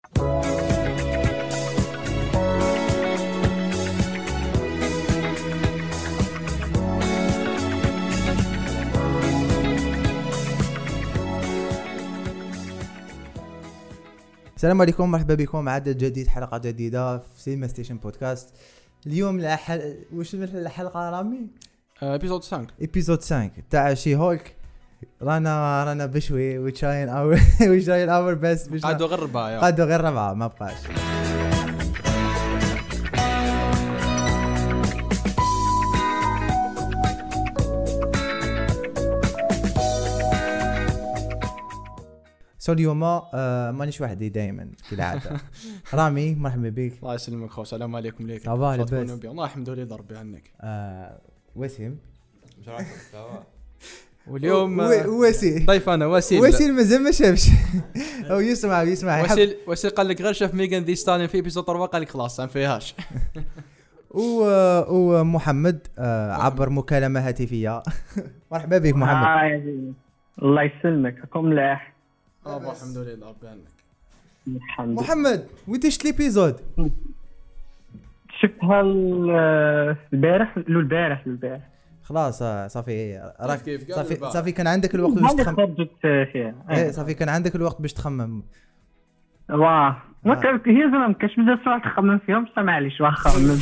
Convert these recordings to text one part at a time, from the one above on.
السلام عليكم، مرحبا بكم عدد جديد، حلقة جديدة في سينما ستيشن بودكاست. اليوم وش الحلقة رامي؟ ابيزود 5 تاع شي هولك. رانا بشوي وتشاين اور بس قعدوا غير ربعة ما بقاش. اليوم مانيش وحدي دائما كالعاده. رامي مرحبا بك. الله يسلمك خو. السلام عليكم ليك. صباح الخير. الله الحمد لله ضربي عنك. وسيم مش راكم سوا. واليوم وسيل طيب انا وسيل مازال ما شافش او يسمع وسيل قال لك غير شاف ميغان دي ستالين في ايبيزود 4 قال لك خلاص ما فيهاش. ومحمد عبر مكالمه هاتفيه. مرحبا بك محمد. الله يسلمك. راكم ملاح؟ الحمد لله ربي عنك. محمد وين شفت ليبيزود؟ شفتها البارح. خلاص صافي صافي كان عندك الوقت باش تخمم. صافي كان عندك الوقت باش تخمم. واه ما كانت هي زعما ما كاش بزاف سوايع تخمم فيهم، بصح معليش واخا نخمم.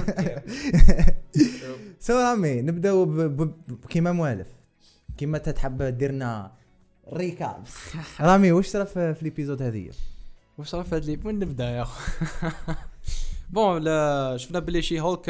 رامي نبداو كيما موالف، كيما تتحب ديرنا ريكاب. رامي واش صرا في الابيزود هذه؟ واش صرا في هذا اللي وين نبدا يا اخو؟ بون لا شفنا بلي شي هولك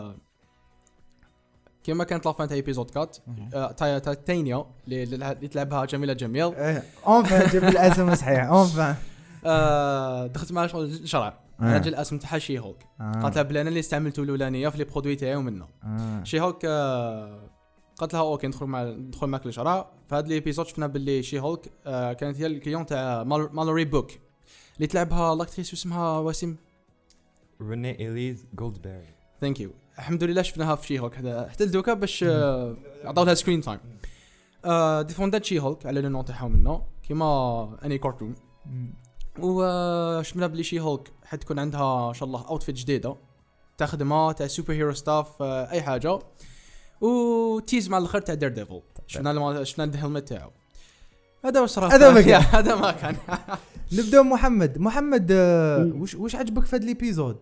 كيما كانت لافان تاع ايبيزود 4 تاع تاينيا اللي تلعبها جميله جميل. اونفا جاب الاسم صحيح. اونفا دخلت مع الشرع اجل الاسم تاع شي هولك. قالت لها بلي انا اللي استعملته الاولانيه في لي برودوي تاعي ومنه. شي هولك قالت لها اوكي ندخل معك للشرع. في هذا الابيزود شفنا باللي شي هولك كانت هي الكليون تاع مالوري بوك اللي تلعبها لاكتريس اسمها وسيم ريني إليز جولدبيري. ثانك يو. الحمد لله شفناها في شي هولك حتى لدوكا باش عطاو لها سكرين تايم. ديفوندات شي هولك على لو نون تاعها منه كيما اني كارتون. وشفنا بلي شي هولك حتكون عندها ان شاء الله اوتفيت جديده تخدمها تاع سوبر هيرو ستاف اي حاجه. وتيز مع الاخر تاع دير ديفل شفنا الهلمت تاعو. هذا واش صرا هذا ما كان. نبدا محمد واش عجبك في هذا الابيزود؟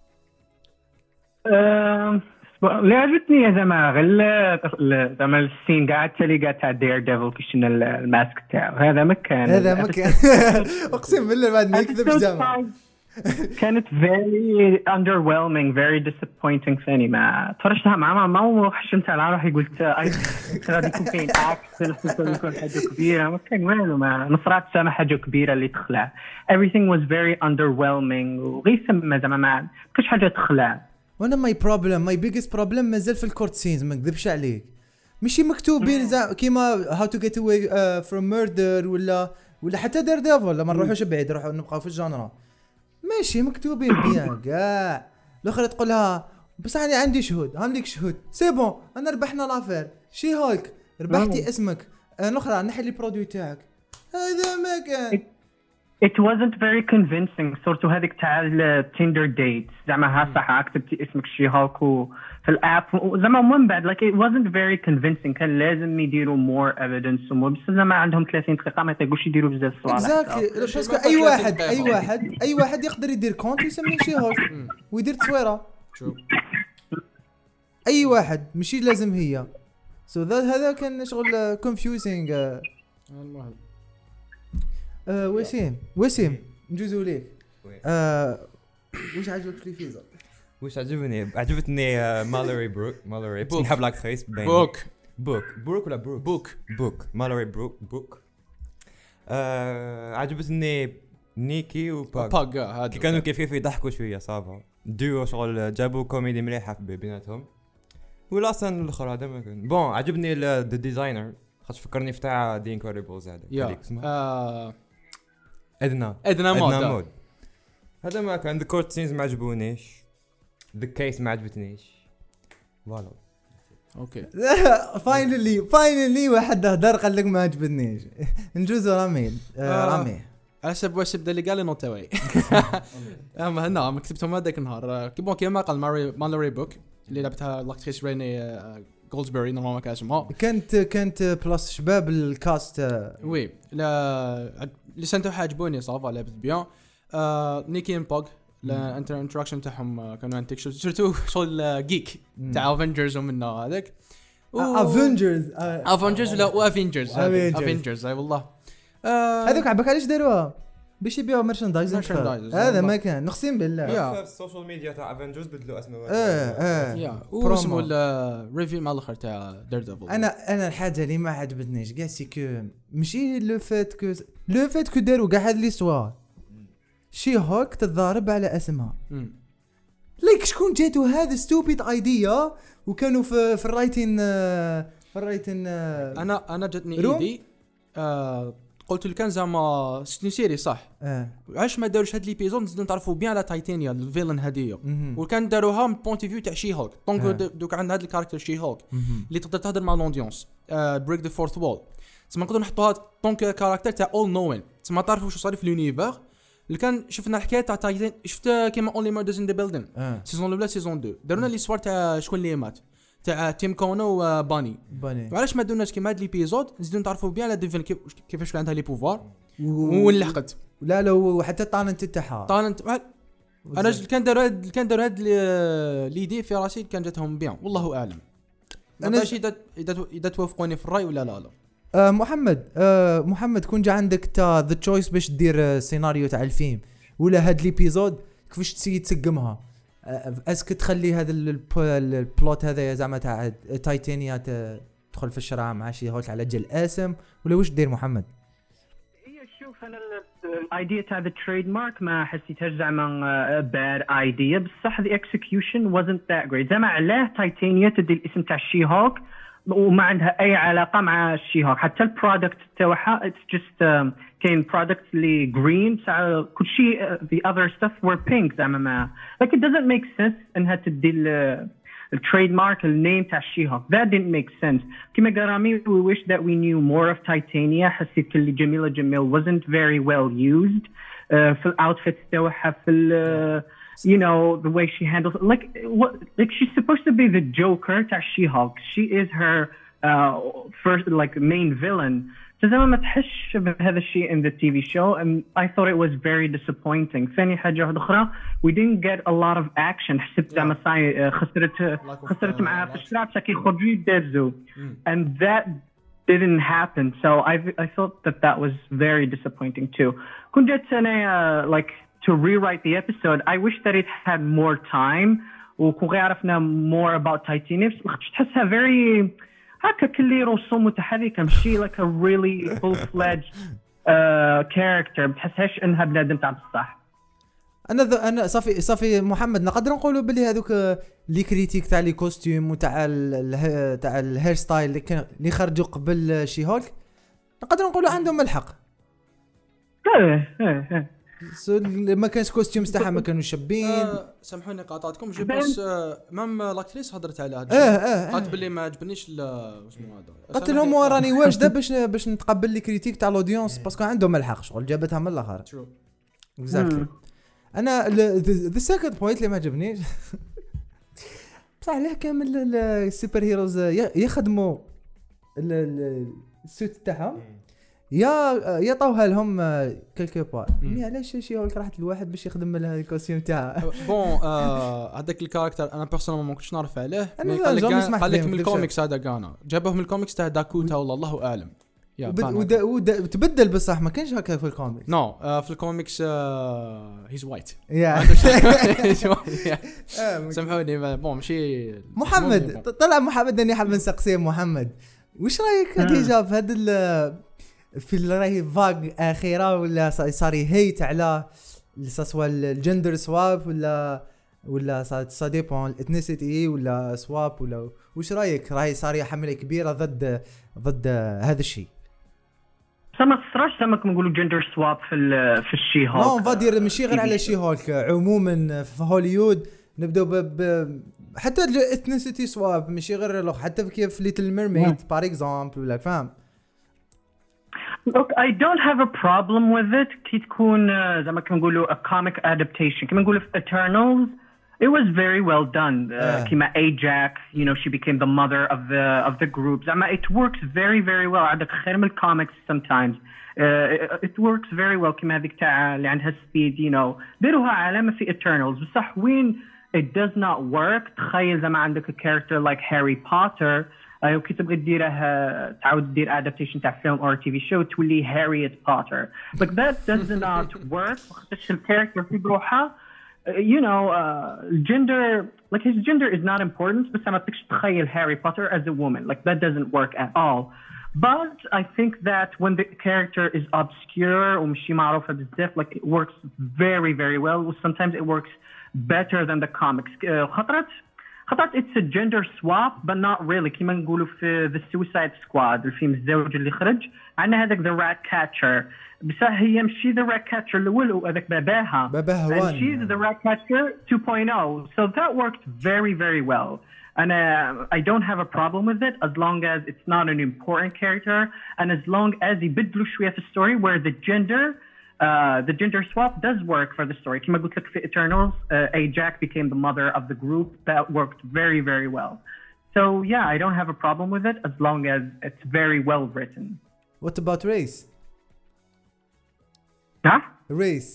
اللي عجبتني زعما غير زعما السين قاعد تاع دير ديفل كيشنا الماسك تاعو. هذا ما كان اقسم بالله بعد ما يكذبش زعما كانت very underwhelming very disappointing ثاني. ما تفرجتها مع ما وحشمت على روحي قلت غادي يكون كاين اكشن يكون حاجه كبيره. ما كان والو، ما نصرات سامع حاجه كبيره اللي تخلع. everything was very underwhelming وغير سما زعما ما كاش حاجه تخلع. وانا my biggest problem مازال في الكورت سينز. ما نكذبش عليك ماشي مكتوبين كيما how to get away from murder ولا حتى دير ديفل. لما نروحوش بعيد نروحوا نبقاو في الجانرا ماشي مكتوبين بيان كاع. الاخر تقولها بس انا عندي شهود سي بون انا ربحنا لافير. شي هولك ربحتي اسمك. الاخرى نحي لي برودوي تاعك. هذا ما كان it wasn't very convincing. صورته هذيك تاع التيندر ديت زعما ها صح كتبتي اسمك شي هولك في الاب زعما من بعد like it wasn't very convincing. كان لازم يديروا more evidence بس زعما عندهم 30 دقيقه ما يقدروش يديروا بزاف صوالح. باسكو اي واحد يقدر يدير كونت يسمي شي هولك ويدير تصويره. اي واحد ماشي لازم هي. هذا كان شغل confusing. المهم وسيم نجوزوا ليك. واش عجبك في الفيزا؟ واش عجبتني مالوري بروك نحب لاكتريس بروك ولا بوك مالوري بروك. عجبتني نيكي وباغ كي كانوا كيف يضحكوا شويه صافا ديو شغل جابوا كوميدي مليحه بيناتهم. ولا اصلا الاخر هذا ما كان بون. عجبني الديزاينر خاطر فكرني في تاع دي انكريدبلز هذا اسمه ادنا مود. هذا ما كان. الكورت سينز ما عجبونيش. ذا كيس ما عجبتنيش. فوالا اوكي فاينلي واحد هدر قال لك ما عجبتنيش. نجوز رامي حسب واش بدا اللي قال نوت واي. اما هنا ما كتبتهم هذاك النهار كيما قال مالوري بوك اللي لعبتها لاكتريس ريني جولدسبري نورمالمون ما كان اسمها كانت بلاس شباب الكاست. وي لا اللي سنتو حاجبوني صافا لعبت بيان. نيكي ان بوغ الانتراكشن تاعهم كانوا انتك سورتو شغل جيك تاع افنجرز ومنه هذاك افنجرز ولا افنجرز اي والله هذوك عباك علاش داروها باش يبيعوا مرشندايز. هذا ما كان نقسم بالله في السوشيال ميديا تاع افنجرز بدلوا اسمه واسمه الريفيو مع الاخر تاع ديرديفل. انا الحاجه اللي ما عجبتنيش كاع سي كو ماشي لو فات كو داروا كاع هاد لي سوار شي هوك تضارب على اسمها ليك شكون جاتو هذا ستوبيد ايديا وكانوا في الرايتين انا جاتني ايدي قلت له كان زعما سيري صح علاش ما داروش هاد ليبيزود نزيدو نتعرفوا بيان على تايتانيا الفيلن هديه وكان داروها من بوينت فيو تاع شي هولك دونك دوك عندنا هاد الكاركتر شي هولك اللي تقدر تهضر مع الاودينس بريك ذا فورث وول تسمى نقدروا نحطوها دونك كاركتر تاع اول نوين تسمى تعرفوا شو صار في اليونيفر اللي كان شفنا الحكايه تاع تايتان شفت كيما اونلي ماردرز ان ذا بيلدين سيزون الاولى سيزون 2 دارونا لي سوار تاع شكون اللي مات تاع تيم كونو وباني وعلاش ما دوناش كيما هاد ليبيزود نزيدو نتعرفوا بيان على ديفين كيفاش عندها لي بوفوار وين لحقت لا وحتى طالنت تاعها طالنت انا كان داروا هاد ليدي في راسي كان جاتهم بيان والله اعلم انا اذا توافقوني في الراي ولا لا محمد كون جا عندك تا ذا تشويس باش دير سيناريو تاع الفيلم ولا هاد ليبيزود كيفاش تسيي تسقمها اسك تخلي هذا البلوت هذا زعما تاع تايتانيا تدخل في الشرع مع شي هوك على جل اسم ولا واش دير محمد؟ شوف انا الايديا تاع ذا تريد مارك ما حسيتهاش زعما باد ايديا بصح ذا اكسكيوشن wasn't that great زعما علاه تايتانيا تدي الاسم تاع شي هوك وما عندها اي علاقه مع الشي هوك حتى البرودكت تاعها اتس جست كاين برودكت اللي جرين كل شيء the other stuff were pink زعما ما like it doesn't make sense انها تدي التريد مارك النيم تاع الشي هوك that didn't make sense كما قرامي we wish that we knew more of Titania حسيت اللي جميلة جميل wasn't very well used في الاوتفيت تاعها في you know the way she handles like she's supposed to be the Joker تاع She-Hulk she is her first like main villain فزعما ما تحش بهذا الشيء in the TV show and I thought it was very disappointing ثاني حاجة واحدة أخرى we didn't get a lot of action حسيت زعما ساي خسرت معها في الشارع كي يخرجوا يدزوا and that didn't happen so I thought that was very disappointing too كنت جات أنا like to rewrite the episode I wish that it had more time وكون عرفنا more about Titania تحسها very هكا كلي رسوم متحركة مشي like a really full-fledged character بتحسهاش انها بنادم تاع بصح انا صافي محمد نقدر نقولوا بلي هذوك لي كريتيك تاع لي كوستيم وتاع تاع الهير ستايل اللي خرجوا قبل شي هولك نقدر نقولوا عندهم الحق ما كانش كوستيوم تاعها ما كانوا شابين سامحوني قاطعتكم جو بس مام لاكتريس هضرت على هذا قالت باللي ما عجبنيش اسمه هذا قلت لهم وراني واجده باش نتقبل لي كريتيك تاع الاودينس باسكو عندهم الحق شغل جابتها من الاخر اكزاكتلي انا ذا سيكند بوينت اللي ما عجبنيش بصح علاه كامل السوبر هيروز يخدموا السوت تاعهم يا طوها لهم كلكو بار علاش شي هولك راحت الواحد باش يخدم لها الكوستيم تاعها بون هذاك الكاركتر انا بيرسونال ما كنتش نعرف عليه قال لك من الكوميكس هذا كان جابوه من الكوميكس تاع داكوتا والله اعلم وتبدل بصح ما كانش هكا في الكوميكس نو في الكوميكس هيز وايت سامحوني بون ماشي محمد طلع محمد اني حاب نسقسي محمد واش رايك ديجا في هذا في راهي فاغ اخيره ولا صار هيت على سواء الجندر سواب ولا صار ديبون الاثنيسيتي ولا سواب ولا واش رايك راهي صار حمله كبيره ضد هذا الشيء ما صراش زعما نقولوا جندر سواب في الشي هولك نو فادير ماشي غير على الشي هولك عموما في هوليوود نبداو حتى الاثنيسيتي سواب ماشي غير حتى كيف ليتل ميرميد بار اكزامبل ولا فاهم Look, I don't have a problem with it. كي تكون زي ما كنقولوا a comic adaptation. كما نقولوا في Eternals, it was very well done. كما Ajax, you know, she became the mother of the group. زعما it works very very well. عندك خير من الكوميكس sometimes. It works very well. كما هذيك تاع اللي عندها speed, you know. ديروها علامة في Eternals. بصح وين it does not work. تخيل زعما عندك a character like Harry Potter. كي تبغي ديره تعاود دير adaptation تاع فيلم or TV show تولي Harriet Potter. Like that does not work. خاطرش الكاركتر في بروحها you know gender, like his gender is not important, بس ما تقدرش تخيل Harry Potter as a woman. Like that doesn't work at all. But I think that when the character is obscure ومشي معروفة بزاف, like it works very very well. Sometimes it works better than the comics. خطرت it's a gender swap but not really. كيما نقولوا في The Suicide Squad الفيلم الزوج اللي خرج عندنا هذاك The Rat Catcher, بس هي مشي The Rat Catcher الأول وهذاك باباها and she's The Rat Catcher 2.0, so that worked very very well. And I don't have a problem with it as long as it's not an important character and as long as يبدلوا شوية في story where the gender swap does work for the story. كما قلت لك في Eternals, Ajax became the mother of the group. That worked very very well. So yeah, I don't have a problem with it as long as it's very well written. What about race? Huh? Race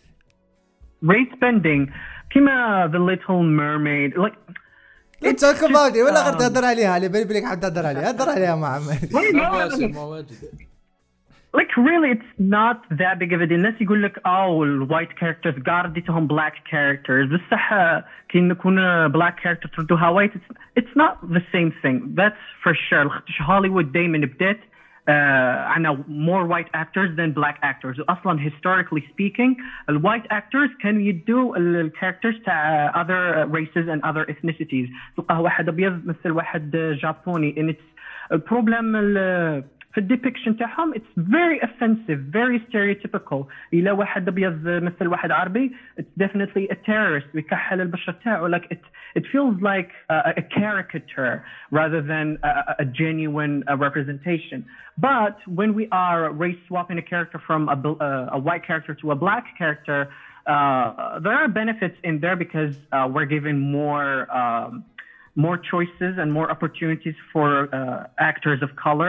bending. كما The Little Mermaid. Like let's talk about it. ولا غير تهدر عليها اللي بالك حد تهدر عليها. هدر عليها مع عمي. Like really, it's not that big of a deal. الناس يقول لك white characters قارديتهم black characters. بصح كي نكون black character تردوها white, it's not the same thing. That's for sure. هوليوود دايما بدأت عنا more white actors than black actors. أصلاً historically speaking, the white actors كانوا يدوا الكاركترز تاع other races and other ethnicities. تلقاه واحد أبيض مثل واحد جابوني. And it's a problem في الديبيكشن تاعهم it's very offensive, very stereotypical. إلا واحد أبيض مثل واحد عربي it's definitely a terrorist ويكحل البشرة تاعه. Like it feels like a caricature rather than a genuine representation. But when we are race swapping a character from a white character to a black character, there are benefits in there because we're given more choices and more opportunities for actors of color,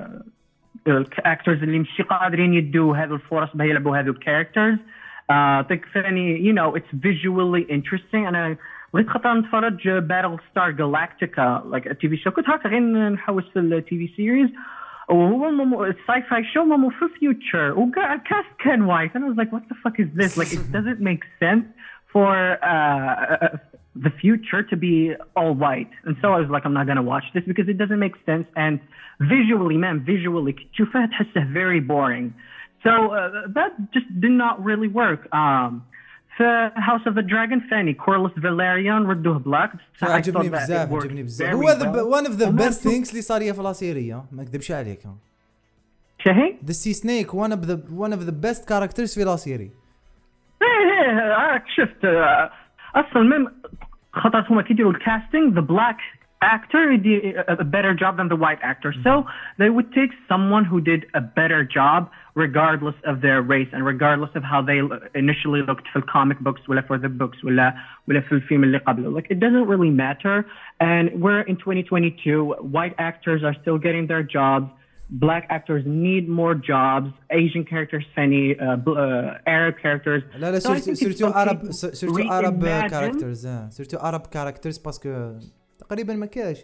actors اللي مش قادرين يدوا هذه الفرص باه يلعبوا هذو characters. تكفاني you know it's visually interesting. أنا بغيت خاطر نتفرج Battlestar Galactica like a TV show. كنت هكا غير نحوس في ال TV series وهو sci-fi show مو في future والكاست كان white and I was like what the fuck is this? Like it doesn't make sense for the future to be all white. And so I was like I'm not going to watch this because it doesn't make sense and visually تشوفها تحسه very boring. So that just did not really work. في House of the Dragon ثاني Corlys Velaryon ردوه black. عجبني بزاف هو one of the best things اللي صار في السيريا ما اكذبش عليك. شهي The Sea Snake one of the best characters في السيريا. شفت اصلا من خاطر هما كيديروا الكاستنج the black actor did a better job than the white actor. So they would take someone who did a better job regardless of their race and regardless of how they initially looked for the comic books ولا for the books ولا في الفيلم اللي قبله. Like it doesn't really matter. And we're in 2022. White actors are still getting their jobs. Black actors need more jobs. Asian characters funny, Arab characters. لا surtout Arab characters. surtout Arab characters باسكو تقريبا ما كاش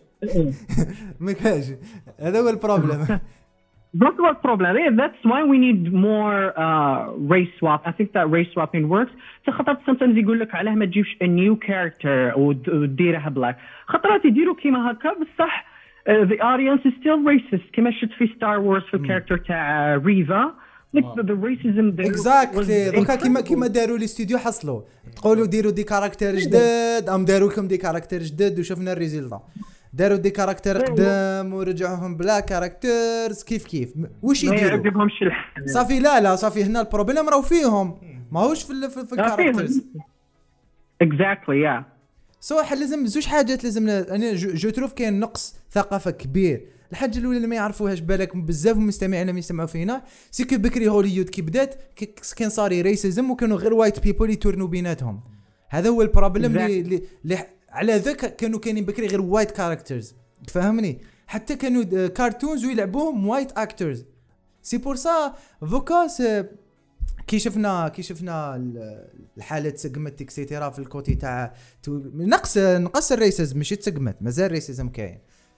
هذا هو البروبلم. That's what problem. Yeah, that's why we need more race swap. I think that race swapping works. خاطر sometimes يقول لك علاه ما تجيبش a new character وديرها black. خاطرات يديروا كيما هكا بصح the audience is still racist. كما شفت في Star Wars في الكاركتر تاع ريفا. Like the racism there. Exactly. دوكا كيما داروا الاستوديو حصلوا تقولوا ديروا دي كاركتر جداد ام داروا لكم دي كاركتر جداد وشفنا الريزلت. داروا دي كاركتر قدام ورجعوهم بلا كاركترز كيف واش يديروا صافي لا صافي هنا البروبليم راهو فيهم ماهوش في الكاركترز. Exactly yeah. لازم زوج حاجات لازم انا جو تروف كاين نقص ثقافه كبير. الحاجه الاولى اللي ما يعرفوهاش بالك بزاف مستمعين لما يسمعوا فينا سيكو بكري هوليود كي بدات كان صار ريسيزم وكانوا غير وايت بيبل يتورنوا بيناتهم. هذا هو البروبليم اللي على ذاك كانوا كاينين بكري غير وايت كاركترز تفهمني. حتى كانوا كارتونز ويلعبوهم وايت اكترز. سي بور سا فوكاس كي شفنا الحاله تسقمت اكسيتيرا في الكوتي تاع نقص الريسيزم ماشي تسقمت مازال الريسيزم كاين.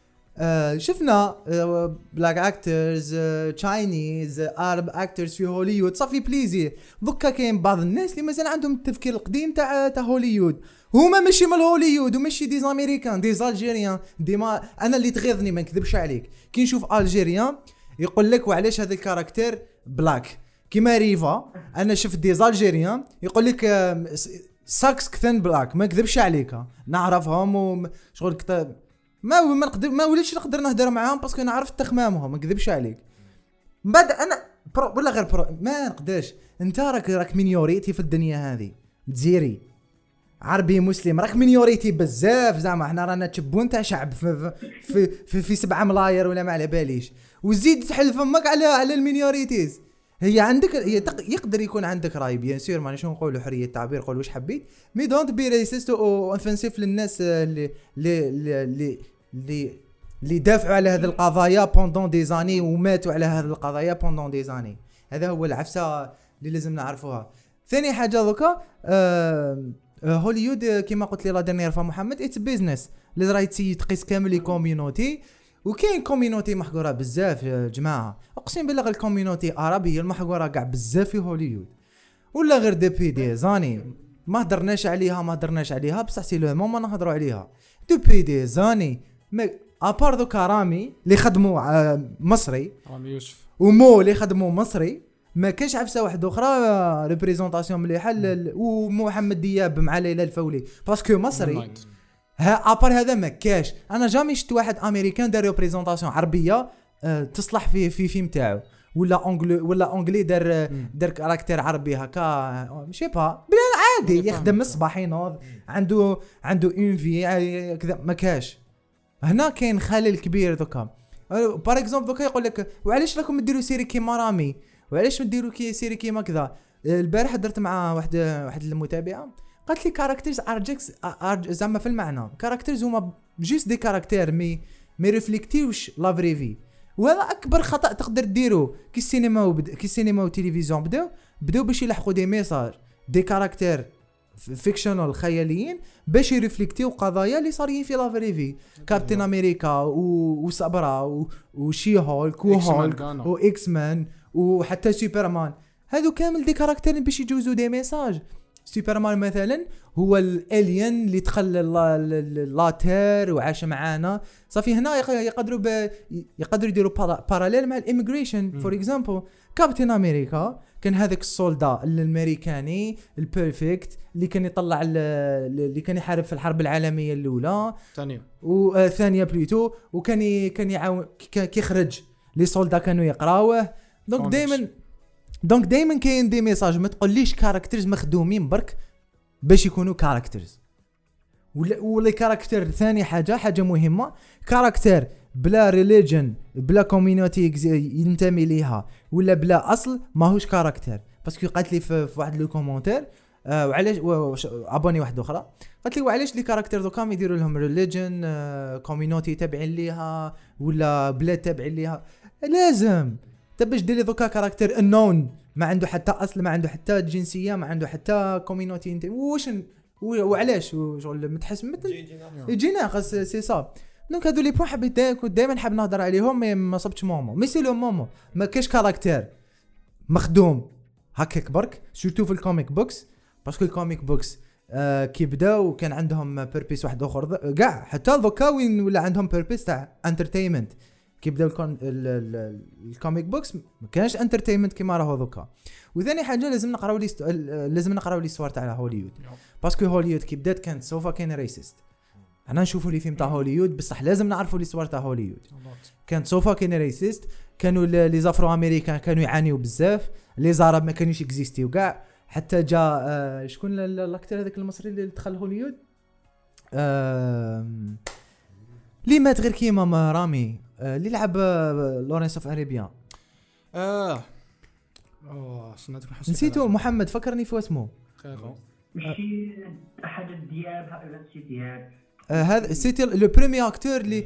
شفنا بلاك اكترز تشاينيز ارب اكترز في هوليوود صافي بليزير. دوكا كاين بعض الناس اللي مازال عندهم التفكير القديم تاع هوليوود. هما ماشي من هوليوود وماشي ديز امريكان ديز الجيريان ديما. انا اللي تغيظني ما نكذبش عليك كي نشوف الجيريان يقول لك وعلاش هذا الكاركتير بلاك كيما ريفا. انا شفت ديز الجيريان يقول لك ساكس كثن بلاك ما نكذبش عليك نعرفهم وشغل كتاب ما وليش نقدر نهضر معاهم باسكو نعرف تخمامهم ما نكذبش عليك. بعد انا ولا غير ما نقدرش. انت راك مينيوريتي في الدنيا هذه جزيري عربي مسلم راك مينيوريتي بزاف زعما احنا رانا تشبون تاع شعب في 7 ملاير ولا ما على باليش وزيد تحل فمك على المينيوريتيز. هي عندك يقدر يكون عندك راي بيان سور مانيش نقولوا حريه التعبير قول واش حبيت مي دونت بي ريسيست او انفنسيف للناس اللي دافعوا على هذه القضايا بوندون دي زاني وماتوا على هذه القضايا بوندون دي زاني. هذا هو العفسه اللي لازم نعرفوها. ثاني حاجه دوكا هوليود كما قلت لي لا ديرنيير فا محمد اتس بيزنس اللي راهي تقيس كامل لي كوميونيتي وكاين كوميونيتي محقوره بزاف يا جماعه. اقسم بالله الكوميونيتي العربيه المحقوره كاع بزاف في هوليود ولا غير ديبي دي زاني ما هضرناش عليها بصح سي لو مومون نهضروا عليها ديبي دي زاني. ابار دو كرامي اللي خدموا مصري رامي يوسف ومو اللي خدموا مصري ما كاش عفسه واحده اخرى ريبريزونطاسيون مليحه ومحمد دياب مع ليلى الفولي باسكو مصري ابار هذا ما كاش. انا جامي شفت واحد امريكان دار ريبريزونطاسيون عربيه تصلح في فيلم تاعو ولا اونغلي دار كاركتير عربي هكا ماشي با بلا عادي يخدم الصباح ينوض عنده اون في كذا ما كاش. هنا كاين خلل كبير دوكا بار اكزومبل دوكا يقول لك وعلاش راكم ديروا سيري كيما رامي وعلاش ما ديروا سيري كيما كذا. البارح درت مع واحد المتابعه قالت لي كاركترز زعما في المعنى كاركترز هما جوست دي كاركتير مي ريفليكتيوش لا فري في. وهذا اكبر خطا تقدر ديرو كي السينما والتلفزيون بداو باش يلحقوا دي ميساج دي كاركتير فيكشنال خياليين باش يرفليكتيو قضايا اللي صارين في لا فري في. كابتن امريكا وصبرا وشي هولك واكس مان وحتى سوبرمان هذو كامل دي كاركتير باش يجوزوا دي ميساج. سوبرمان مثلا هو الالين اللي دخل لاتير وعاش معانا صافي. هنا يقدروا يديروا باراليل مع الاميغريشن فور اكزامبل. كابتن امريكا كان هذاك السولدا الامريكاني البيرفكت اللي كان يطلع اللي كان يحارب في الحرب العالميه الاولى ثانيه بليتو وكان يعاون كي خرج لي سولدا كانوا يقراوه. دونك دائما كاين دي ميساج. ما تقوليش كاركترز مخدومين برك باش يكونوا كاركترز ولا كاركتر. ثاني حاجه مهمه كاركتر بلا ريليجن بلا كوميونيتي ينتمي ليها ولا بلا اصل ماهوش كاركتر. باسكو قالت لي في واحد لو كومونتير وعلاش ابوني واحده اخرى قالت لي وعلاش لي كاركتر دوكا يديروا لهم ريليجن كوميونيتي تابعين ليها ولا بلاد تابعين ليها. لازم باش دير لي دوكا كاركتر انون ما عنده حتى اصل ما عنده حتى جنسيه ما عنده حتى كوميونيتي واش وعلاش شغل متحس يجينا خاص سي صاب. دونك هادو لي بوين حبيت دائما حاب نهضر عليهم ما صبتش مومو مي سي لو مومو ما كاش كاركتير مخدوم هكاك برك سورتو في الكوميك بوكس باسكو الكوميك بوكس كي بداو كان عندهم بيربيس واحد اخر كاع حتى دوكا وين ولا عندهم بيربيس تاع انترتينمنت. كي بداو الكوميك بوكس ما كانش انترتينمنت كيما راهو دوكا. وثاني حاجه لازم نقراو لي ستوار تاع هوليوود باسكو هوليوود كي بدات كانت سوفا كان ريسيست. انا نشوفوا لي فيلم تاع هوليوود بصح لازم نعرفوا لي ستوار تاع هوليوود كانت سوفا كان ريسيست. كانوا لي زافرو امريكان كانوا يعانيوا بزاف لي زارب ما كانوش اكزيستيو كاع. حتى جا شكون الاكتر هذاك المصري اللي دخل هوليوود لي مات غير كيما رامي اللي لعب لورنس اوف اريبيا نسيته محمد فكرني في اسمه ماشي احد الدياب هذا دياب هذا سيتي لو بريمير اكتور اللي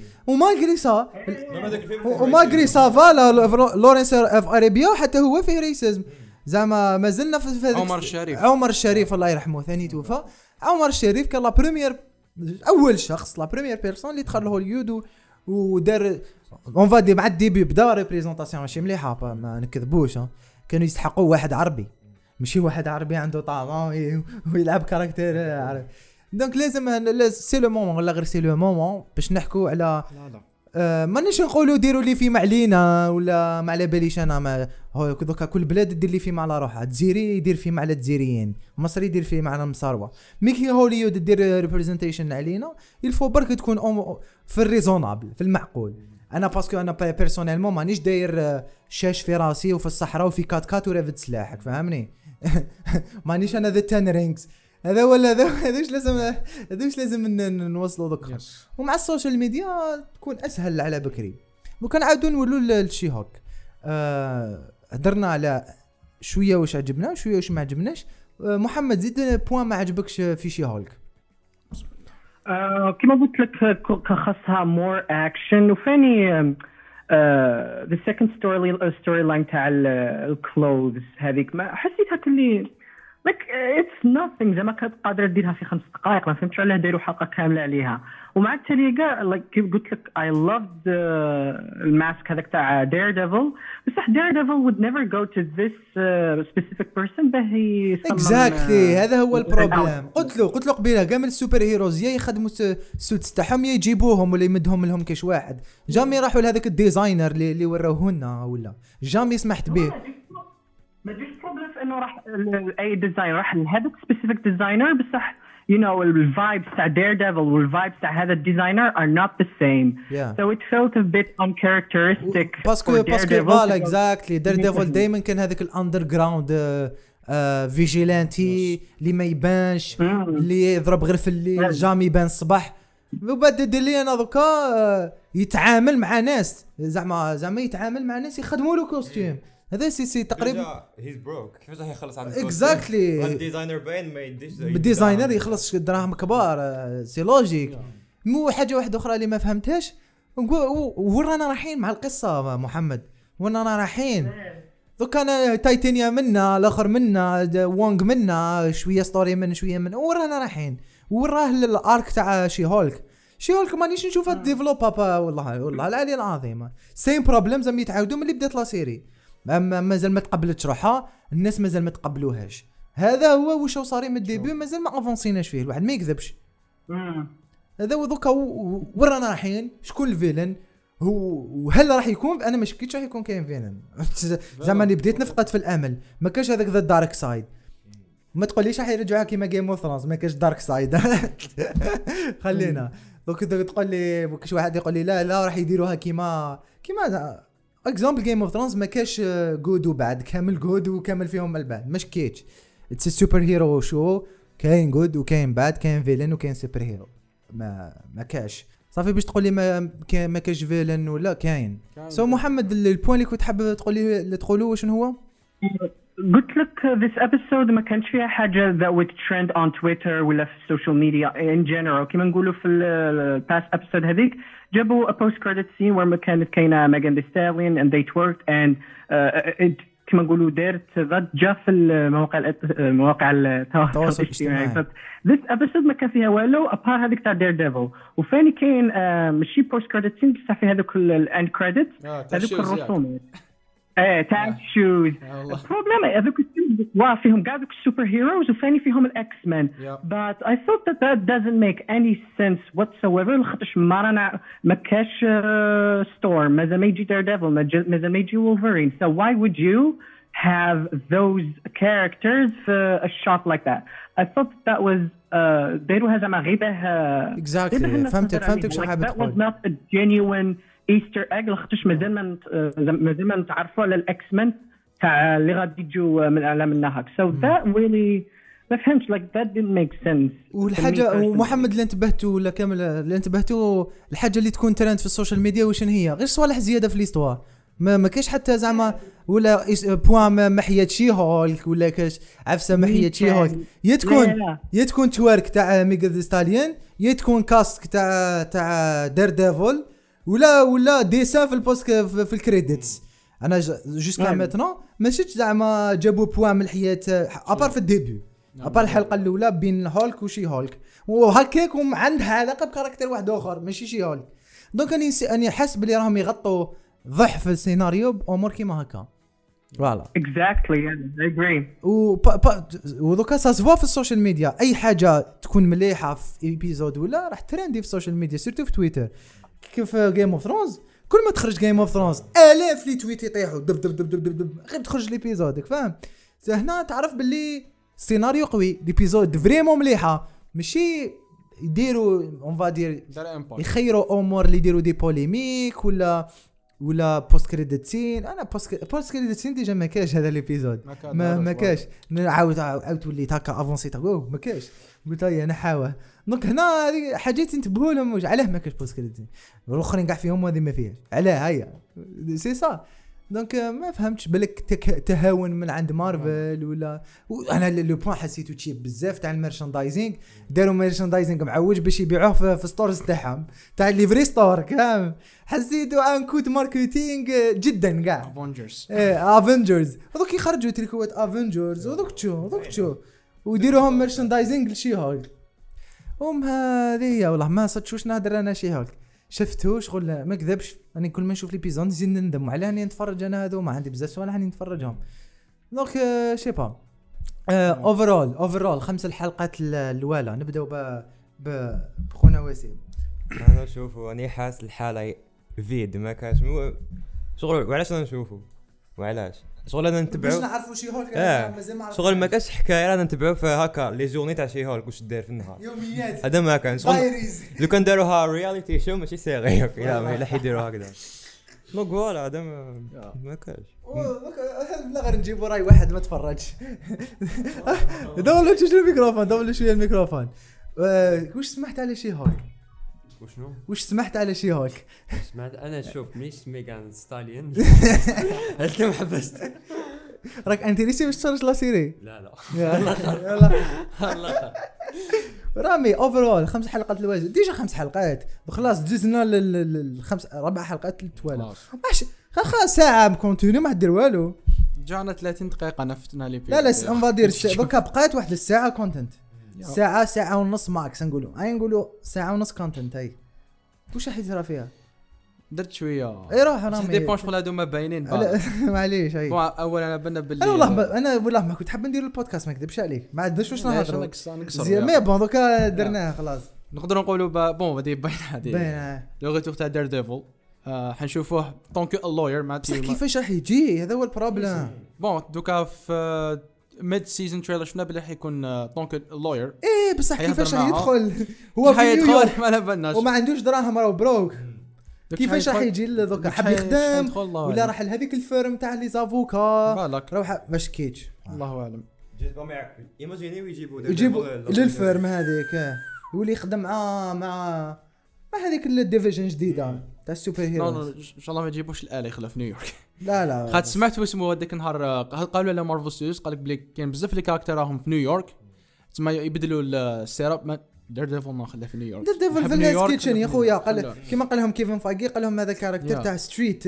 ومالغري سا فا لورنس اوف اريبيا حتى هو فيه ريسيزم زعما ما زلنا في عمر الشريف الله يرحمه ثاني توفى. عمر الشريف كان لا بريمير اول شخص لا بريمير بيرسون اللي دخل لهوليود ودار اون فا دي مع الديبي بدا ريبريزونطاسيون ماشي مليحه ما نكذبوش كانوا يستحقوا واحد عربي ماشي واحد عربي عنده طعم ويلعب كاركتير عربي. دونك لازم سي لو مومون ولا غير سي لو مومون باش نحكوا على مانيش نقولوا ديروا لي فيلم علينا ولا ما على باليش انا ما هو دوكا كل بلاد دير لي فيلم على روحها. الجزيري يدير فيلم على الجزائريين مصري يدير فيلم على المصاروه ميكي هوليود دير ريبريزنتيشن علينا يلفو برك تكون في الريزونابل في المعقول. انا باسكو انا بيرسونيلمون مانيش داير شاش في راسي وفي الصحراء وفي كات ورافد سلاحك فهمني مانيش انا ذا 10 رينجز هذا ولا هذا وش لازم نوصلوا ذكر. ومع السوشيال ميديا تكون اسهل على بكري. وكان عاودوا نولوا للشي هوك هدرنا على شويه واش عجبنا شويه واش ما عجبناش. محمد زيد بوين ما عجبكش في شي هوك. كما قلت لك خاصها مور اكشن وفاني the second storyline تاع الكلوز هذيك ما حسيتها كلي like it's nothing زعما كانت قادره ديرها في 5 دقائق ما فهمتش علاه دايروا حلقه كامله عليها. ومع التالي كاع like كيف قلت لك I loved الماسك هذاك تاع Daredevil بصح Daredevil would never go to this specific person به يصمم exactly هذا هو البروبليم. قلت له قبيله كامل السوبر هيروز يا يخدموا السوتس تاعهم يا يجيبوهم ولا يمدهم لهم كاش واحد. جامي راحوا لهذاك الديزاينر اللي وراوه لنا ولا جامي سمحت به. ما جيش بروبلم انه راح اي ديزاين راح لهذاك سبيسيفيك ديزاينر بصح you know الفايبس تاع Daredevil والفايبس تاع هذا الديزاينر are not the same so it felt a bit uncharacteristic باسكو فوالا اكزاكتلي Daredevil دائما كان هذاك الاندر جراوند فيجيلانتي اللي ما يبانش اللي يضرب غير في الليل جامي يبان الصباح. وبعد دلي انا دوكا يتعامل مع ناس زعما يتعامل مع ناس يخدموا له كوستيم هذا سي تقريبا هيز بروك كيفاش راح يخلص عند اكزاكتلي الديزاينر باين ما يديش الديزاينر يخلص دراهم كبار سي لوجيك. مو حاجه واحده اخرى اللي ما فهمتهاش ورانا رايحين مع القصه محمد ورانا رايحين دوك انا تايتانيا منا الاخر منا وونغ منا شويه ستوري من شويه من ورانا رايحين وراه الارك تاع شي هولك مانيش نشوفها ديفلوبا والله العلي العظيم سيم بروبليم زعما يتعاودوا ملي بدات لا سيري مازال ما تقبلتش روحها الناس مازال ما تقبلوهاش. هذا هو واش صاري من الديبي مازال ما افونسيناش فيه الواحد ما يكذبش. هذا دوكا ورانا رايحين شكون الفيلن وهل راح يكون انا ما شكيتش راح يكون كاين فيلن زعما اللي بديت نفقد في الامل ما كاش هذاك ذا دارك سايد. ما تقوليش راح يرجعوها كيما جيم اوف ثرونز ما كاش دارك سايد خلينا دوك تقول لي كاش واحد يقول لي لا راح يديروها كيما اكزامبل جيم اوف ثرونز ما كاش جود وبعد كامل جود وكامل فيهم البعد مش كيتش اتس سوبر هيرو شو كاين جود وكاين باد كاين فيلن وكاين سوبر هيرو ما كاش صافي باش تقول لي ما كاش فيلن ولا كاين. سو محمد البوين اللي كنت حاب تقولوا شنو هو؟ قلت لك this episode ما كانش فيها حاجة that would trend on Twitter ولا في السوشيال ميديا in general كما نقولوا في ال past episode هذيك جابوا a post credit scene where كانت كاينة Megan Thee Stallion and they twerked and it كما نقولوا دارت ضجة في المواقع التواصل الاجتماعي. this episode ما كان فيها والو apart هذيك تاع Daredevil وفاني كاين ماشي post credit scene بصح فيها هذوك ال end credits هذوك الرسومات تاع شوز. البروبلم هذوك فيهم قاعد دوك السوبر هيروز وفاني فيهم الاكس مان but I thought that doesn't make any sense whatsoever خاطرش ما كاش ستورم مازال ما يجي Daredevil مازال ما يجي Wolverine so why would you have those characters في a shot like that. I thought that was دايروها زعما غيبه exactly فهمتك شنو حابب تقول. that was not a genuine ايستر ايج لخاطرش مازال ما نتعرفوا على الاكس مان تاع اللي غادي يجوا من اعلام النهار so that really ما فهمتش like that didn't make sense. والحاجه ومحمد اللي انتبهتوا ولا كامل اللي انتبهتوا الحاجه اللي تكون ترند في السوشيال ميديا وشن هي غير صوالح زياده في ليستوار ما كاش حتى زعما ولا بوان محيه شي هولك ولا كاش عفسه محيه شي هولك يتكون تورك تاع ميغا ستاليون يتكون كاست تاع دير ديفل ولا ديسان في البوست في الكريديتس. انا جوسكا ميتنون ماشي زعما جابوا بوان من الحياه ابار في الديبي ابار الحلقه الاولى بين هولك وشي هولك وهكاك عندها علاقه بكاركتر واحد اخر ماشي شي هولك. دونك اني حاسس بلي راهم يغطوا ضعف السيناريو بامور كيما هكا. فوالا exactly I agree. ودوكا ساسفوا في السوشيال ميديا اي حاجه تكون مليحه في ايبيزود ولا راح ترندي في السوشيال ميديا سيرتو في تويتر كيف جيم اوف ثرونز. كل ما تخرج جيم اوف ثرونز الاف لي تويت يطيحوا دب دب دب دب دب غير تخرج ليبيزودك فاهم. هنا تعرف باللي السيناريو قوي ليبيزود فريمون مليحه ماشي يديروا اون فادير يخيروا امور اللي يديروا دي بوليميك ولا بوست كريديت سين. انا بوست كريديت سين ديجا ما كاش هذا ليبيزود ما كاش عاود وليت هكا افونسيت ما كاش قلت لي انا حاوه. دونك هنا هذه حاجات تنتبهوا لهم علاه ما كاش بوست كريديت والاخرين كاع فيهم هذه ما فيهاش علاه هيا سي صا. دونك ما فهمتش بالك تهاون من عند مارفل ولا انا لو بوين حسيتو تشيب بزاف تاع الميرشاندايزينغ. داروا ميرشاندايزينغ معوج باش يبيعوه في ستورز تاعهم تاع ليفري ستور كامل. حسيتو ان كود ماركتينغ جدا كاع افنجرز هذوك يخرجوا تريكوات افنجرز ودوك تشو ويديروهم ميرشاندايزينغ لشي هولك. هذه والله ما صدقوش نهضر انا شي هولك شفتو شغل ما كذبش. انا كل ما نشوف ليبيزود نزيد نندم على اني نتفرج انا هذو ما عندي بزاف سوالح اني نتفرجهم. دونك شي با اوفرول 5 الحلقات الاولى نبداو بخونا وسيم. انا نشوفوا اني حاس الحاله فيد ما كاش شغل وعلاش انا نشوفوا وعلاش شغل انا نتبعوا باش نعرفوا شي هولك مازال ما شغل ما كاش حكايه انا نتبعوا في هكا لي جورني تاع شي هولك واش داير في النهار يوميات هذا ما كان شغل لو كان داروها رياليتي شو ماشي سيري لا ما راح يديروا هكذا نو فوالا هذا ما كاش لا غير نجيبوا راي واحد ما تفرجش. دولوا شويه الميكروفون واش سمحت على شي هولك وش سمحت على شي هولك؟ سمعت انا شوف مش ميغان ستاليون انت محبست راك انت ليش باش تفرج لا سيري؟ لا الله رامي اوفرول 5 حلقات الواجب ديجا 5 حلقات وخلاص دزنا للخمس 4 حلقات التوالي ماشي خلاص ساعه كونتينيو ما دير والو جانا 30 دقيقه نفتنا لي لا اون فادير دوكا بقات واحد الساعه كونتنت ساعه ونص ماكس نقولوا ساعه ونص كونتنت هاي واش راح يصير فيها درت شويه اي روح رامي دي بونش ولا هادو ما باينين معليش هاي اولا انا بنا باللي انا والله ما كنت حاب ندير البودكاست ما نكذبش عليك ما عندناش واش نهضروا زين مي بون دوكا درناه خلاص نقدروا نقولوا بون بدي باين هذه لو غير تاع دير ديفل حنشوفوه طونك اللوير مع كيفاش راح يجي هذا هو البروبليم. بون دوكا في ميد سيزون تريلر شفنا بلي حيكون طونك اللوير بصح كيفاش راح يدخل هو في نيويورك ما بالناش وما عندوش دراهم راه بروك كيفاش راح يجي دوكا حاب يخدم ولا راح لهذيك الفيرم تاع لي زافوكا روح باش كيتش الله اعلم ايماجينيو يجيبوا للفيرم هذيك يولي يخدم مع هذيك الديفيجن جديده تاع السوبر هيرو. ان شاء الله ما يجيبوش الاله يخلى في نيويورك. لا خاطر سمعت اسمه هذاك النهار قالوا له مارفل ستوديوز قال لك بلي كاين بزاف لي كاركتر راهم في نيويورك تسمى يبدلوا السيراب دير ديفل ما خلاه في نيويورك. دير ديفل في الناس كيتشن يا خويا قال كيما قال لهم كيفن فايغي قال لهم هذا الكاركتر تاع ستريت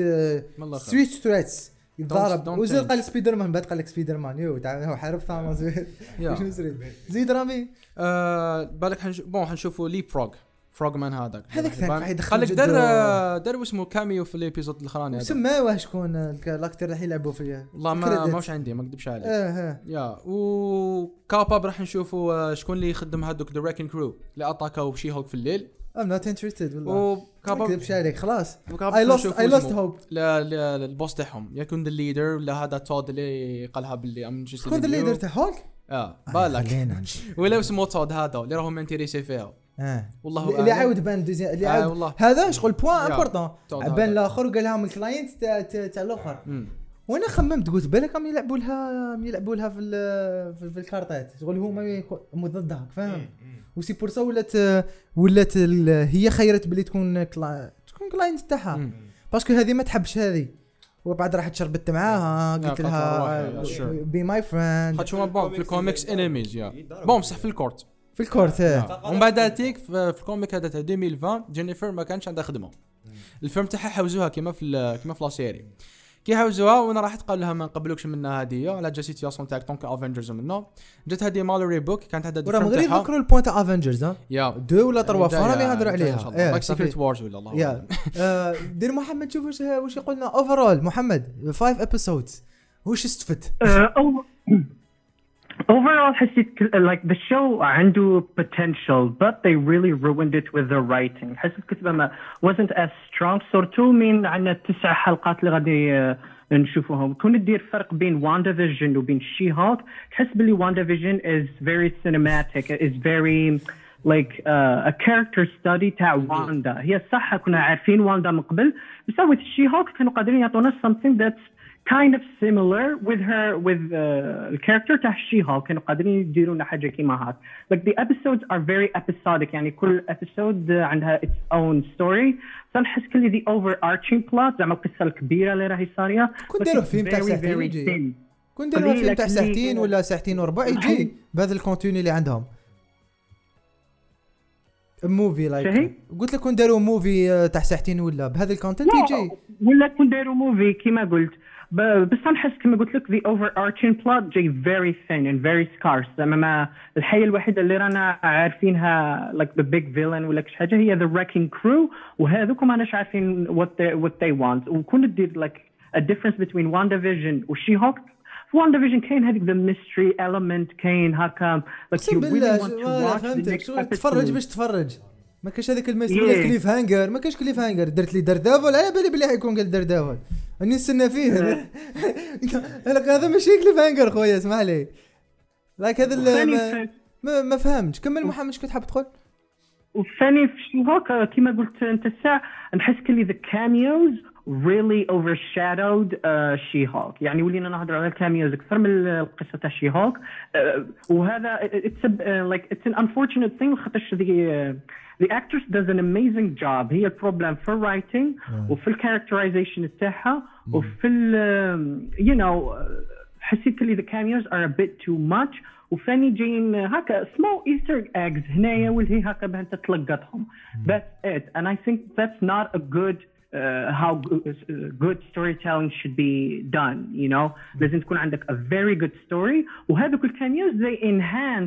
ثريتس يضرب وزيد قال سبايدر مان بعد قال لك سبايدر مان يو تاع هو حارب ثانوس شنو سري زيد رامي بالك حنشوفوا ليب فروغ مان هذاك ثاني يدخل قال لك دار اسمه كاميو في الابيزود الاخراني هذا سماوه شكون الكاركتر اللي يلعبوا فيه والله ماش عندي ما نكذبش عليك يا وكابا راح نشوفوا شكون اللي يخدم هذوك ذا ريكن كرو اللي اتاكاو شي هولك في الليل. I'm not interested والله وكابا نكذبش عليك خلاص I lost hope لا البوس تاعهم يكون ذا ليدر ولا هذا تود اللي قالها باللي ام جيست شكون ذا ليدر تاع هولك بالك ولا اسمه تود هذا اللي راهم انتريسي فيها والله اللي عاود بان اللي عاود هذا شغل بوين امبورطون بان الاخر وقال لهم الكلاينت تاع الاخر وانا خممت قلت بالك هم يلعبوا لها في الكارتات شغل هما ضدها فاهم وسي بور سا ولات هي خيرت بلي تكون كلاينت تاعها باسكو هذه ما تحبش هذه وبعد راح تشربت معاها قلت لها بي ماي فريند خاطر بون في الكوميكس انيميز يا بون بصح في الكورت ومن بعد تيك في الكوميك هذا تاع 2020 جينيفر ما كانش عندها خدمه الفيلم تاعها حوزوها كيما في لا سيري كي حوزوها وانا راحت قال لها ما نقبلوكش منها هديه على جا سيتياسيون تاع طونك افنجرز منه جات هذه مالوري بوك كانت عندها الفيلم تاعها غير ذكروا البوينت تاع افنجرز يا 2 ولا 3 فرا يهضروا عليها لايك سيكريت وارز ولا الله دير محمد شوف واش يقولنا اوفرول محمد 5 ابيسودز واش استفدت Overall, حسيت like the show عنده potential, but they really ruined it with the writing. حسيت الكتابة ما wasn't as strong. صورتو من عنا 9 حلقات اللي غادي نشوفوهم. كون تدير فرق بين WandaVision وبين She-Hulk. تحس بلي WandaVision is very cinematic. Is very like a character study تاع واندا. هي صح كنا عارفين واندا من قبل. بس with She-Hulk كانوا قادرين يعطونا something that's kind of similar with the character تاع She-Hulk كانوا قادرين يديروا لنا حاجه كيما هاك like the episodes are very episodic يعني كل episode عندها its own story فنحس كل the overarching plot زعما القصه الكبيره اللي راهي صاريه كون ديروا فيلم تاع ساعتين يجي كون ديروا فيلم تاع ساعتين ولا ساعتين وربع يجي بهذا الكونتيني اللي عندهم موفي لايك قلت لك كون داروا موفي تاع ساعتين ولا بهذا الكونتنت يجي ولا كون داروا موفي كيما قلت بس نحس كما قلت لك the overarching plot جاي very thin and very scarce زعما الحية الوحيدة اللي رانا عارفينها like the big villain ولا كش حاجة هي the wrecking crew وهذوكم ماناش عارفين what they want وكون تدير like a difference between WandaVision و She-Hulk WandaVision كاين هذيك the mystery element كاين هكا like you really want to watch the next episode تتفرج باش تتفرج ما كاش هذيك المسؤوليه كليف هانجر ما كاش كليف هانجر درت لي دردافول على بالي بلي حيكون قال دردافول اني نستنى فيه هذا ماشي كليف هانجر خويا اسمح لي لايك هذا ما فهمتش كمل محمد كنت حاب تقول والثاني في She-Hulk كما قلت انت الساعه نحس كلي the cameos really overshadowed She-Hulk يعني ولينا نهضر على الكاميوز اكثر من القصه تاع She-Hulk وهذا it's an unfortunate thing خاطرش the actress does an amazing job هي البروبلم في writing وفي الكاركترايزيشن تاعها وفي you know حسيت لي the cameos are a bit too much وفاني جايين هكا small Easter eggs هنايا واللي هكا باه انت تلقطهم that's it and I think that's not a good how good storytelling should be done you know لازم تكون عندك a very good story وهذوك الكاميوز they enhance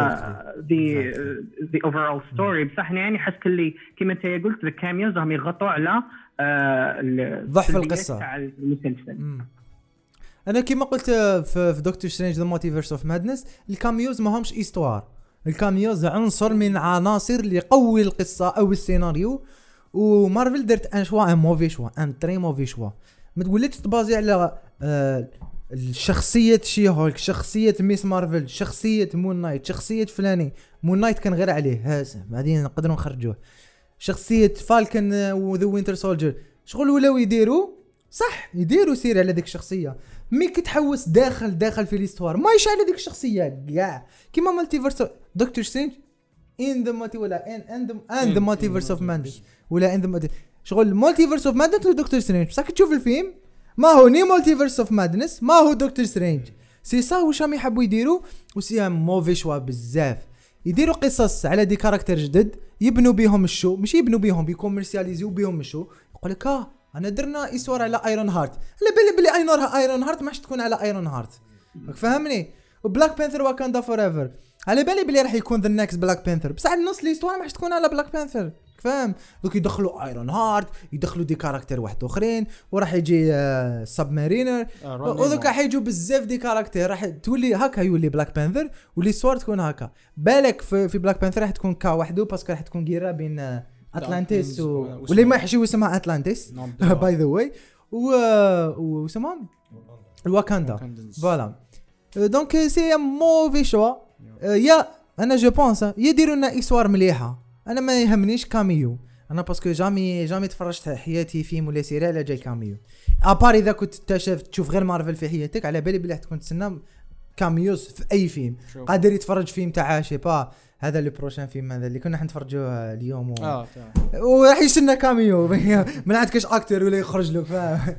the overall story بصح يعني حس كلي كما انت قلت the cameos هم يغطوا على ضعف القصه تاع المسلسل انا كما قلت في دكتور سترينج ذا مالتيفيرس اوف مادنس الكاميوز ما همش ايستوار الكاميوز عنصر من عناصر اللي يقوي القصه او السيناريو ومارفل درت ان شوا ان موفي شوا ان تري موفي شوا ما تقوليش تبازي على الشخصيه She-Hulk شخصيه ميس مارفل شخصيه مون نايت شخصيه فلاني مون نايت كان غير عليه هذا بعدين نقدروا نخرجوه شخصيه فالكن وذا وينتر سولجر شغل ولاو يديروا صح يديروا سير على ذيك الشخصيه مي كتحوس داخل في الاستوار ما يش على ذيك الشخصيه كاع كيما مالتيفيرس دكتور سترينج in the multi ولا and the multiverse of madness ولا in the شغل multiverse of madness ودكتور سترينج بصح تشوف الفيلم ما هو ني multiverse of madness ما هو دكتور سترينج سي صا واش راهم يحبوا يديروا وسي موفي شوا بزاف يديروا قصص على دي كاركتر جدد يبنوا بيهم الشو مش يبنوا بيهم بيكوميرسياليزيو بيهم الشو يقول لك انا درنا يسور على ايرون هارت على بالي بلي ايرون هارت ماش تكون على ايرون هارت فهمني وبلاك بانثر واكاندا فوريفر على بالي بلي راح يكون ذا نيكست بلاك بانثر بصح النص ليستوار ماش تكون على بلاك بانثر فاهم دوك يدخلوا ايرون هارت يدخلوا دي كاركتر واحد اخرين وراح يجي سبمارينر ودوك راح يجوا بزاف دي كاركتر راح تولي هكا يولي بلاك بانثر والليستوار تكون هكا بالك في بلاك بانثر راح تكون كا وحده باسكو راح تكون غيره بين اتلانتيس واللي ما يحشيو اسمها اتلانتيس باي ذا واي وسمهم الواكاندا فوالا دونك سي موفي شوا يا انا جو بونس يديروا لنا اسوار مليحه انا ما يهمنيش كاميو انا باسكو جامي تفرجت حياتي فيلم ولا سيري على جاي كاميو ابار اذا كنت تشوف غير مارفل في حياتك على بالي بلي تكون تسنى كاميوز في اي فيلم قادر يتفرج فيلم تاع شي با هذا لو بروشان فيلم هذا اللي كنا حنتفرجوه اليوم وراح يسنى كاميو ما عندكش اكتر ولا يخرج لك فاهم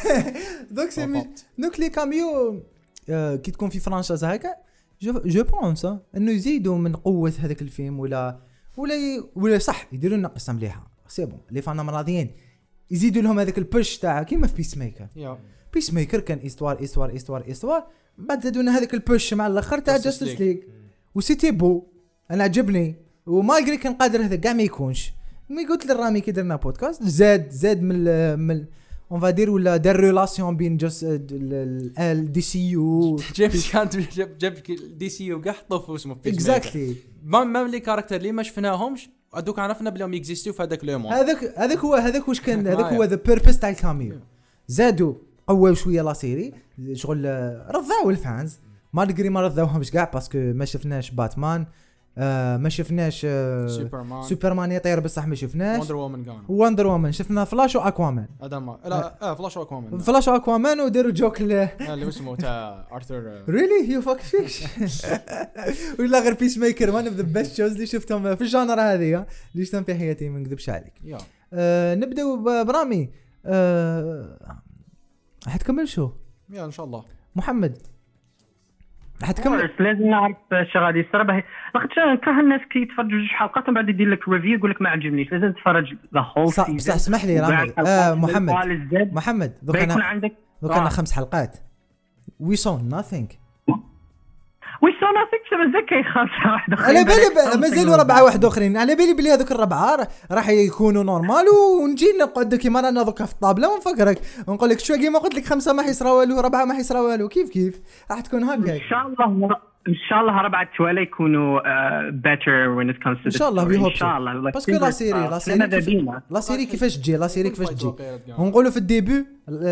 دوك لي كاميو كي تكون في فرانشايز هكا جو بونس انه يزيدوا من قوه هذاك الفيلم ولا صح يديروا لنا قصه مليحه سي بون لي فانا راضيين يزيدوا لهم هذاك البوش تاع كيما في بيس ميكر كان استوار بعد زادوا لنا هذاك البوش مع الاخر تاع جاستس ليج وسيتي بو انا عجبني ومالغري كان قادر هذا كاع ما يكونش مي قلت للرامي كي درنا بودكاست زاد من اون فادير ولا دار ريلاسيون بين جوست الدي سي يو جاب دي سي يو كاع حطوا في اسمه في اكزاكتلي مام لي كاركتر اللي ما شفناهمش ادوك عرفنا بليهم يكزيستيو في هذاك لو مون هذاك واش كان هذاك هو ذا بيربس تاع الكاميو زادوا قووا شويه لا سيري شغل رضاو الفانز مالغري ما رضاوهمش كاع باسكو ما شفناش باتمان ما شفناش سوبرمان يطير بصح ما شفناش وندر وومن شفنا فلاش واكوامان هذا ما لا فلاش واكوامان وداروا جوك اللي اسمه تاع ارثر ريلي يو فاك فيش ولا غير بيس ميكر وان اوف ذا بيست شوز اللي شفتهم في الجانر هذه اللي شفتهم في حياتي ما نكذبش عليك نبداو برامي حتكمل شو يا ان شاء الله محمد حتكمل لازم نعرف شو غادي يصير باهي لاخاطش كره الناس كي يتفرجوا جوج حلقات من بعد يدير لك ريفيو يقول لك ما عجبنيش لازم تتفرج ذا هول سيزون بصح اسمح لي رامي محمد دوك انا 5 حلقات وي سو nothing مازال كاين 5 واحد اخرين على بالي مازالوا 4 واحد اخرين على بالي بلي هذوك الربعه راح يكونوا نورمال ونجي نقعد كيما رانا دوكا في الطابله ونفكرك ونقول لك شو كيما قلت لك 5 ما حيصرا والو 4 ما حيصرا والو كيف راح تكون هكا ان شاء الله 4 توالي يكونوا better when it comes to ان شاء الله ان شاء الله باسكو لا سيري كيفاش تجي ونقولوا في الديبي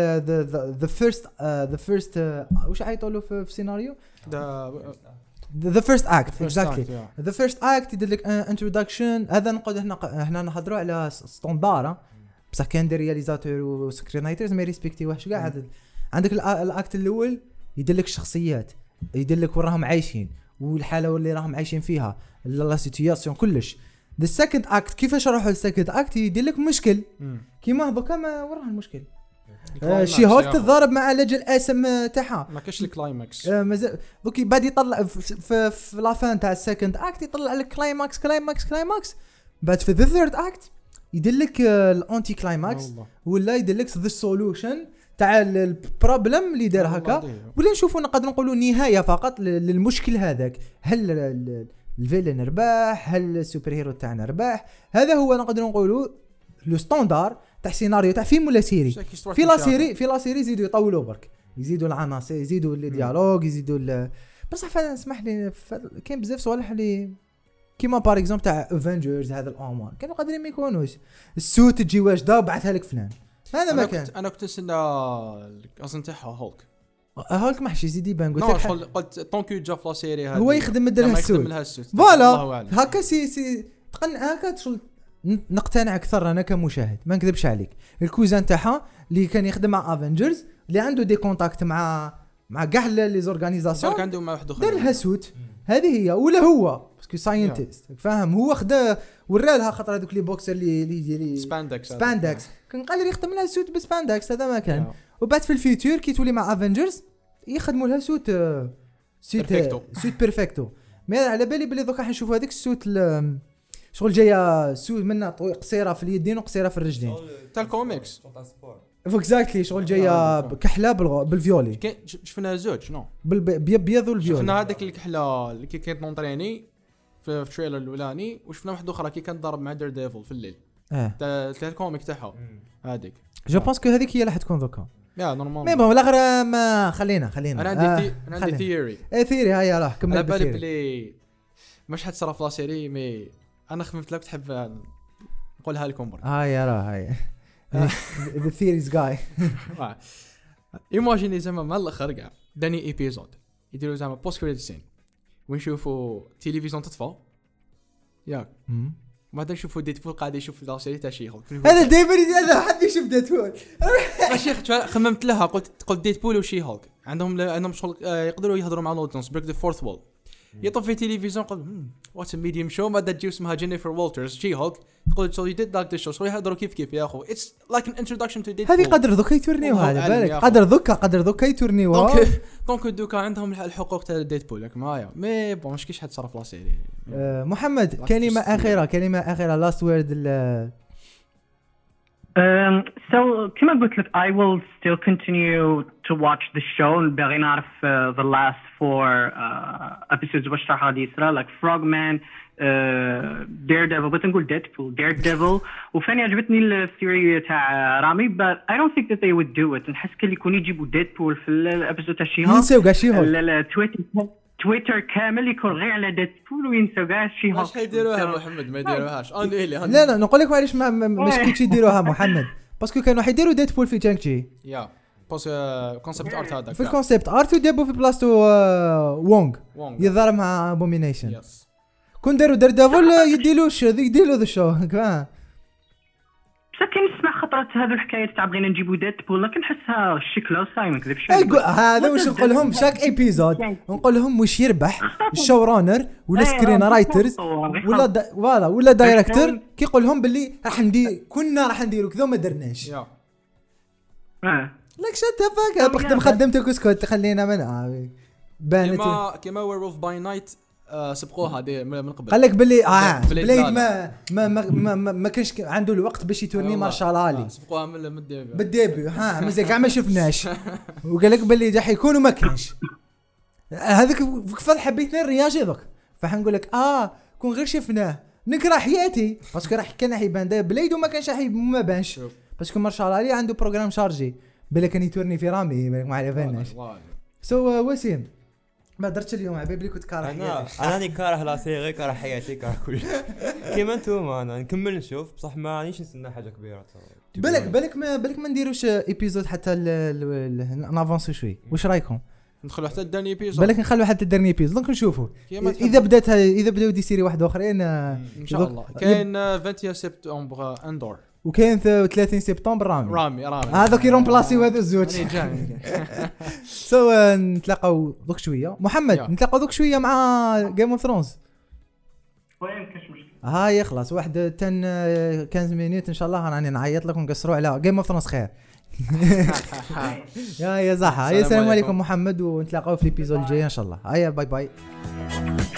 the first واش عيطوا في السيناريو the first act exactly the first act يدير لك introduction هذا نقعد هنا نهضروا على ستاندار بصح كان دي رياليزاتور وسكرينايترز ما ريسبكتيوهش كاع عندك الاكت الاول يدير لك الشخصيات يدير لك وراهم عايشين والحاله اللي راهم عايشين فيها لا سيتوياسيون كلش the second act كيفاش راحوا السكند اكت يدير لك مشكل كيما هذوك ما وراه المشكل شي هولك تضارب مع لجل اسم تاعها ما كاش الكلايماكس مازال دوك بعد يطلع في لافان تاع السكند اكت يطلع لك كلايماكس بعد في ذا ثيرد اكت يدير لك الانتي كلايماكس ولا يدير لك ذا سولوشن تاع البروبلم اللي دار هكا ولا نشوفوا نقدر نقولوا نهايه فقط للمشكل هذاك هل الفيلن رباح هل السوبر هيرو تاعنا رباح هذا هو نقدر نقولوا لو ستاندار تاع سيناريو تاع فيلم ولا سيري في لا سيري يزيدوا يطولوا برك يزيدوا العناصر يزيدوا لي ديالوج يزيدوا بصح اسمح لي كاين بزاف صوالح اللي كيما بار اكزومبل تاع افنجرز هذا الامر كانوا قادرين ما يكونوش السوت تجي واجده وبعثها لك فلان هذا ما كان انا كنت نستنى اصلا تاعها هولك ما حش يزيد يبان قلت طونكو جا في لا سيري هو يخدم مدلها السوت فوالا هكا سي تقن هكا تشغل نقتنع اكثر انا كمشاهد ما نكذبش عليك الكوزان تاعها اللي كان يخدم مع افنجرز اللي عنده دي كونتاكت مع كاع لي زورغانيزاسيون كان عنده مع واحد اخر دار لها سوت هذه هي ولا هو باسكو ساينتيست فاهم هو خدا ورالها خاطر هذوك لي بوكسر اللي سباندكس كان قادر يخدم لها سوت بسباندكس هذا ما كان وبعد في الفيوتشر كي تولي مع افنجرز يخدموا لها سوت بيرفكتو ما على بالي بلي دوكا حنشوفوا هذيك السوت شغل جايه سوت منها قصيره في اليدين وقصيره في الرجلين تاع الكوميكس اكزاكتلي شغل جايه كحله بالفيولي شفنا زوج نو بالبيض والفيولي شفنا هذيك الكحله اللي كانت نونطريني في التريلر الاولاني وشفنا واحده اخرى كي كانت ضارب مع دير ديفل في الليل تاع الكوميك تاعها هذيك جو بونس كو هذيك هي اللي حتكون دوكا يا نورمال مي بون الاخر ما خلينا انا عندي ثيوري هيا راه كمل على بالي بلي مش حتصرف في لا سيري مي انا خممت لك تحب نقولها لكم برك يا راه هاي the theories guy ايماجيني زعما مع الاخر كاع داني ايبيزود يديروا زعما بوست كريديت سين ونشوفوا تلفزيون تطفى ياك بعدين نشوفوا ديدبول قاعد يشوف لا سيري تاع شي هولك. هذا دائما هذا حد يشوف ديدبول. ماشي خممت لها قلت ديدبول وشي هولك عندهم شغل يقدروا يهضروا مع الاودينس بريك ذا فورث وول. يطفي في تلفزيون قال واتس ميديوم شو ما تجي اسمها جينيفر والترز شي هولك تقول شو يديد لايك ذا شو شو يهضروا كيف يا اخو اتس لايك ان انتروداكشن تو ديدبول. هذه قدر ذوك يتورنيو هذا بالك قدر ذوك يتورنيو دونك دوكا عندهم الحقوق تاع ديدبول لك معايا مي بون مش كيش حد صرف لا سيري. محمد كلمه اخيره لاست وورد. So كما قلت لك I will still continue to watch the show. باغي نعرف the last 4 episodes واش راح غادي يصرى like Frogman, Daredevil. بغيت نقول Daredevil. وفاني عجبتني الثيوري تاع رامي but I don't think that they would do it. نحس كلي يكون يجيبوا Deadpool في الابيسود تاع شي هولك ينساو كاع شي هولك تويتر كامل يكون غير على ديدبول وينساو كاع شي هولك. واش حيديروها محمد ما يديروهاش لا نقول لك معليش مش كيتش يديروها محمد باسكو كانوا حيديروا ديدبول في جانكجي يا بس كونسيبت ارت هذاك في الكونسيبت ارت وديبو في بلاصتو وونغ يظهر مع ابومينيشن كون داروا ديفول يديلو ذا شو بس كان نسمع خطرات هذو الحكايات تاع بغينا نجيبوا ديدبول لكن نحسها شكله صايم نكذب شويه. هذا واش نقول لهم شاك ايبيزود نقول لهم واش يربح الشو رانر ولا سكرين رايترز ولا دايركتور كيقول لهم باللي راح نديروا كذا ما درناش. لك شتفك بخدم خدمتك اسكت خلينا من بانت كما ويرولف باي نايت سبقوها دي من قبل. قال لك باللي بليد ما كانش عنده الوقت باش يتورني مارشال علي سبقوها من بالديبي مزال كاع ما شفناش وقال لك باللي راح يكون وما كانش هذاك فضل حبيتني الرياجي ذوك فحنقول لك كون غير شفناه نكره حياتي باسكو كان يبان بليد وما كانش ما بانش باسكو مارشال علي عنده بروغرام شارجي بالك كان يتورني في رامي ما عرفناش. وسيم ما درتش اليوم حبيبي كنت كاره حياتي. انا كاره لا سيري كاره حياتي كاره كل كيما نتوما انا نكمل نشوف بصح ما رانيش نستنى حاجه كبيره. بالك ما نديروش ايبيزود حتى نافونسو شوي. واش رايكم ندخلوا حتى الدرني ايبيزود؟ بالك نخلوا حتى الدرني ايبيزود دونك نشوفوا اذا بداو دي سيري واحده اخرين ان شاء الله. كاين 20 سبتمبر اندور وكاين 30 سبتمبر رامي هذوك يرومبلاسيو هذو الزوج. نتلاقاو دوك شويه محمد نتلاقاو دوك شويه مع جيم اوف ثرونز. وين كاش مشكل هاي خلاص واحد 15 مينوت ان شاء الله راني نعيط لكم نقصروا على جيم اوف ثرونز خير. يا زحا السلام عليكم محمد ونتلاقاو في الابيزود الجاي ان شاء الله. هيا باي